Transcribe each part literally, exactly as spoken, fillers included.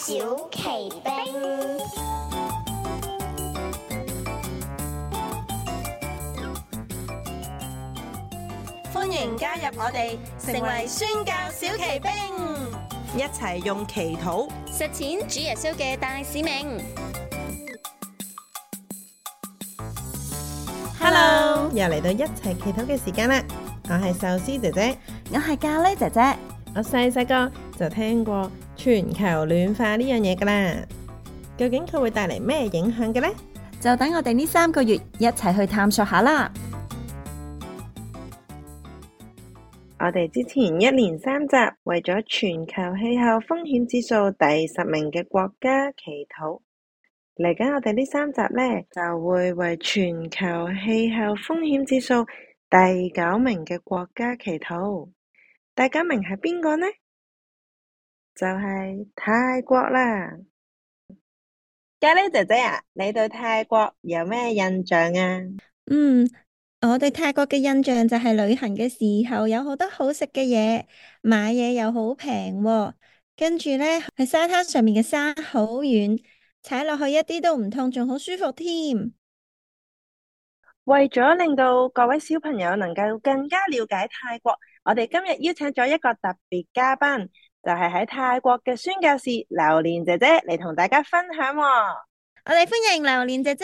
小奇兵，歡迎加入我哋，成為宣教小奇兵， 一齊用祈禱實踐主耶穌嘅大使命。 Hello，又嚟到一齊祈禱嘅時間啦！我係壽司姐姐， 我係咖喱姐姐。 我細細個就聽過全球暖化呢樣嘢噶啦，究竟佢會帶嚟咩影響嘅呢？ 就等我哋呢三個月一齊去探索下啦。 我哋之前一連三集為咗全球氣候風險指數第十名嘅國家祈禱，嚟緊我哋呢三集呢，就會為全球氣候風險指數第九名嘅國家祈禱。第九名係邊個呢？就係泰國啦。咖喱姐姐啊，你對泰國有咩印象啊？ 嗯，我對泰國嘅印象就係旅行嘅時候有好多好食嘅嘢，買嘢又好平喎，跟住呢，喺沙灘上面嘅沙好軟，踩落去一啲都唔痛，仲好舒服添。 為咗令到各位小朋友能夠更加了解泰國，我哋今日邀請咗一個特別嘉賓，就係喺泰國嘅宣教士榴蓮姐姐嚟同大家分享喎。 我哋歡迎榴蓮姐姐。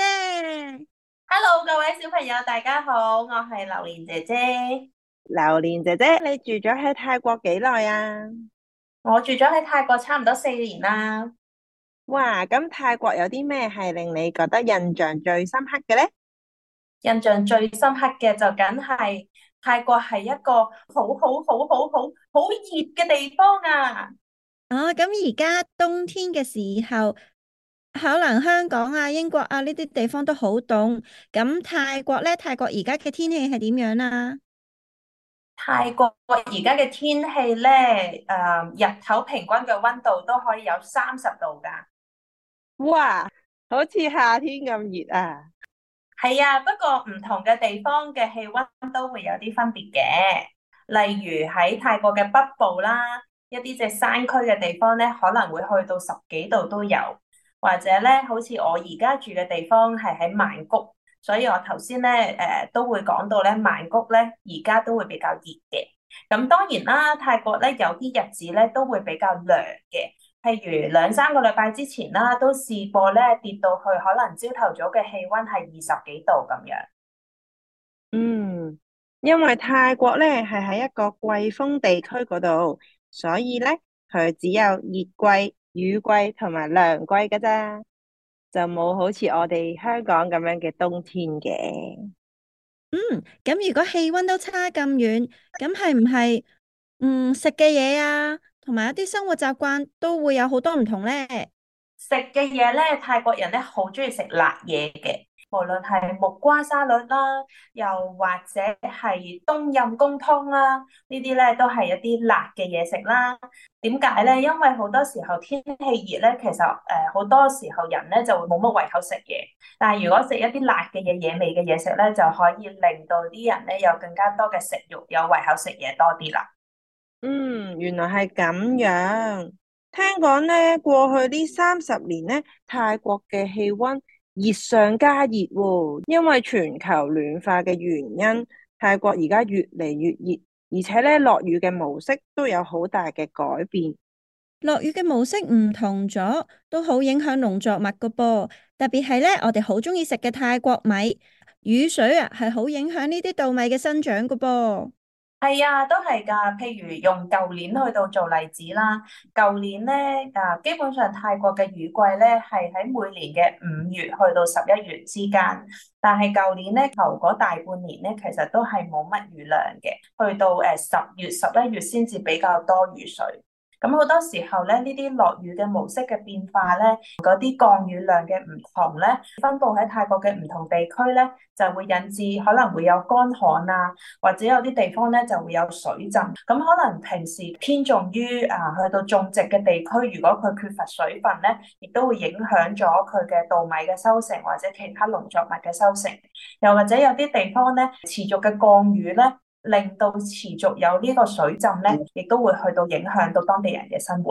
Hello，各位小朋友，大家好，我係榴蓮姐姐。 榴蓮姐姐，你住咗喺泰國幾耐啊？ 我住咗喺泰國差唔多四年啦。 哇，咁泰國有啲咩係令你覺得印象最深刻嘅呢？ 印象最深刻嘅就梗係泰國係一個好好好好好好熱嘅地方啊！ 哦，咁而家冬天嘅時候，可能香港啊、英國啊呢啲地方都好凍。咁泰國呢？泰國而家嘅天氣係點樣啊？ 泰國而家嘅天氣呢，誒、呃，日頭平均嘅溫度都可以有三十度噶。 哇，好似夏天咁熱啊！ 係啊，不過唔同嘅地方嘅氣溫都會有啲分別嘅。例如喺泰國嘅北部啦，一啲隻山區嘅地方咧，可能會去到十幾度都有。或者咧，好似我而家住嘅地方係喺曼谷，所以我頭先咧誒都會講到咧，曼谷咧而家都會比較熱嘅。咁當然啦，泰國咧有啲日子咧都會比較涼嘅。譬如兩三個禮拜之前啦，都試過咧跌到去可能朝頭早嘅氣溫係二十幾度咁樣。 嗯，因為泰國咧係喺一個季風地區嗰度，所以咧佢只有熱季、雨季同埋涼季噶咋，就冇好似我哋香港咁樣嘅冬天嘅。 嗯，咁如果氣溫都差咁遠，咁係唔係嗯食嘅嘢啊？同埋一啲生活習慣都會有好多唔同咧。 食嘅嘢咧，泰國人咧好中意食辣嘢嘅，無論係木瓜沙律啦，又或者係冬陰公湯啦，呢啲咧都係一啲辣嘅嘢食啦。點解咧？因為好多時候天氣熱咧，其實誒好多時候人咧就會冇乜胃口食嘢，但係如果食一啲辣嘅嘢、野味嘅嘢食咧，就可以令到啲人咧有更加多嘅食慾，有胃口食嘢多啲啦。 嗯，原來係咁樣。聽講咧，過去呢三十年咧，泰國嘅氣溫熱上加熱喎，因為全球暖化嘅原因，泰國而家越嚟越熱，而且咧落雨嘅模式都有好大嘅改變。 落雨嘅模式唔同咗，都好影響農作物噶噃。特別係咧，我哋好中意食嘅泰國米，雨水啊係好影響呢啲稻米嘅生長噶噃。 係啊，都係噶。譬如用舊年去到做例子啦，舊年咧啊，基本上泰國嘅雨季咧係喺每年嘅五月去到十一月之間，但係舊年咧頭嗰大半年咧，其實都係冇乜雨量嘅，去到誒十月、十一月先至比較多雨水。咁好多時候咧，呢啲落雨嘅模式嘅變化咧，嗰啲降雨量嘅唔同咧，分佈喺泰國嘅唔同地區咧，就會引致可能會有乾旱啊，或者有啲地方咧就會有水浸。咁可能平時偏重於啊去到種植嘅地區，如果佢缺乏水分咧，亦都會影響咗佢嘅稻米嘅收成或者其他農作物嘅收成。又或者有啲地方咧持續嘅降雨咧，令到持續有呢個水浸咧，亦都會去到影響到當地人嘅生活。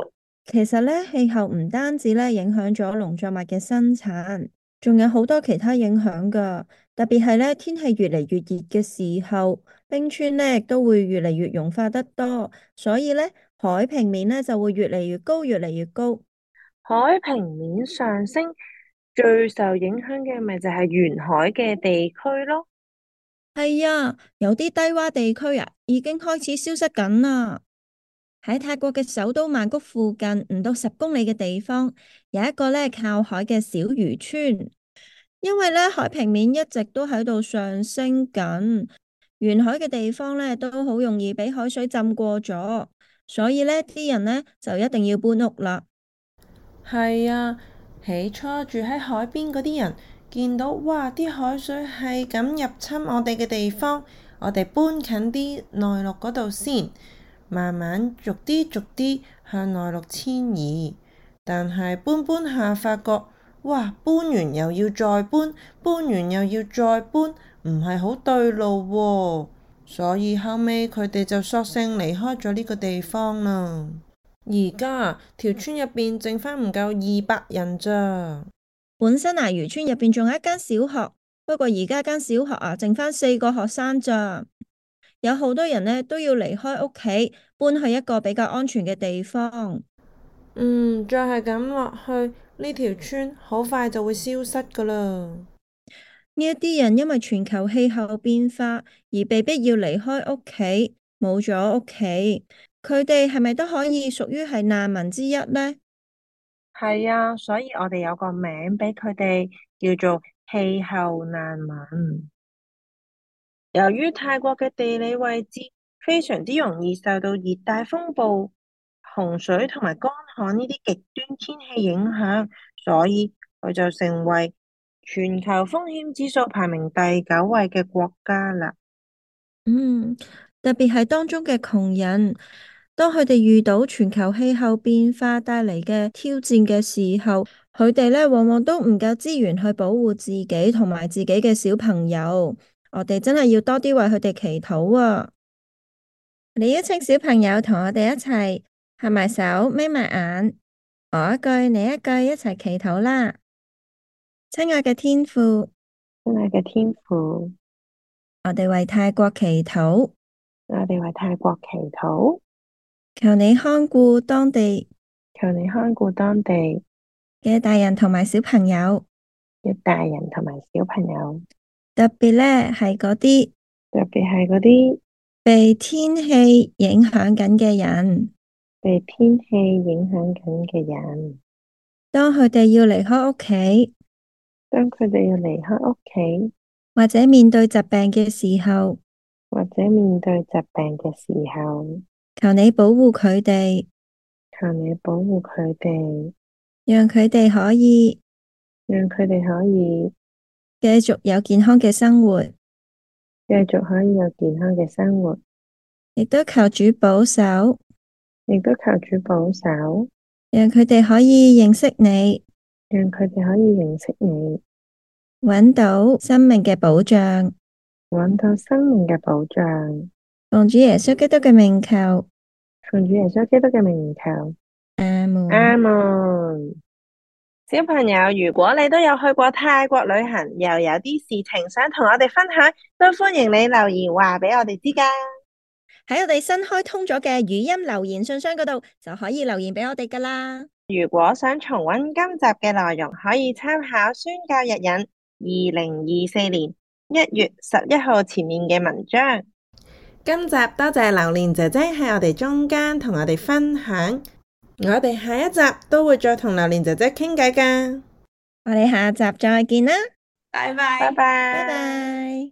其實咧，氣候唔單止咧影響咗農作物嘅生產，仲有好多其他影響噶。特別係咧，天氣越嚟越熱嘅時候，冰川咧亦都會越嚟越融化得多，所以咧海平面咧就會越嚟越高，越嚟越高。 海平面上升最受影響嘅咪就係沿海嘅地區咯。 係啊，有啲低洼地區啊，已經開始消失緊啦。喺泰國嘅首都曼谷附近唔到十公里嘅地方，有一個咧靠海嘅小漁村。因為咧海平面一直都喺度上升緊，沿海嘅地方咧都好容易俾海水浸過咗，所以咧啲人咧就一定要搬屋啦。 係啊，起初住喺海邊嗰啲人見到，哇！啲海水係咁入侵我哋嘅地方，我哋搬近啲內陸嗰度先，慢慢逐啲逐啲向內陸遷移。但係搬搬下發覺，哇！搬完又要再搬，搬完又要再搬，唔係好對路喎。所以後尾佢哋就索性離開咗呢個地方啦。而家條村入邊剩返唔夠二百人咋。 本身啊，漁村入邊仲有一間小學，不過而家間小學啊，剩返四個學生咋。有好多人呢都要離開屋企，搬去一個比較安全嘅地方。 嗯，再係咁落去，呢條村好快就會消失噶啦。 呢一啲人因為全球氣候變化而被逼要離開屋企，冇咗屋企，佢哋係咪都可以屬於係難民之一呢？ 係啊，所以我哋有個名俾佢哋，叫做氣候難民。由於泰國嘅地理位置非常之容易受到熱帶風暴、洪水同埋乾旱呢啲極端天氣影響，所以佢就成為全球風險指數排名第九位嘅國家啦。 嗯，特別係當中嘅窮人，當佢哋遇到全球氣候變化帶嚟嘅挑戰嘅時候，佢哋咧往往都唔夠資源去保護自己同埋自己嘅小朋友。我哋真係要多啲為佢哋祈禱啊！你邀請小朋友同我哋一齊合埋手，眯埋眼，我一句你一句，一齊祈禱啦！親愛嘅天父， 親愛嘅天父， 我哋為泰國祈禱， 我哋為泰國祈禱， 求你看顧當地， 求你看顧當地嘅大人同埋小朋友， 嘅大人同埋小朋友， 特別咧係嗰啲， 特別係嗰啲被天氣影響緊嘅人， 被天氣影響緊嘅人， 當佢哋要離開屋企， 當佢哋要離開屋企， 或者面對疾病嘅時候， 或者面對疾病嘅時候， 求你保護佢哋， 求你保護佢哋， 讓佢哋可以， 讓佢哋可以繼續有健康嘅生活， 繼續可以有健康嘅生活， 亦都求主保守， 亦都求主保守， 讓佢哋可以認識你， 讓佢哋可以認識你， 搵到生命嘅保障， 搵到生命嘅保障。 奉主耶穌基督嘅名求， 奉主耶穌基督嘅名求， 阿門。 阿門。小朋友，如果你都有去過泰國旅行，又有啲事情想同我哋分享，都歡迎你留言話俾我哋知噶。 喺我哋新開通咗嘅語音留言信箱嗰度，就可以留言俾我哋噶啦。 如果想重溫今集嘅內容，可以參考宣教日引二零二四年一月十一號前面嘅文章。今集多謝榴蓮姐姐喺我哋中間同我哋分享，我哋下一集都會再同榴蓮姐姐傾偈噶。 我哋下集再見啦， 拜拜， 拜拜， 拜拜。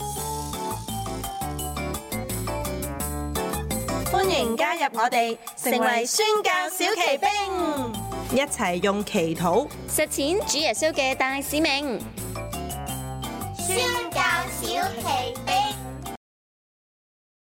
歡迎加入我哋，成為宣教小騎兵， 一齊用祈禱實踐主耶穌嘅大使命。 宣教小騎兵。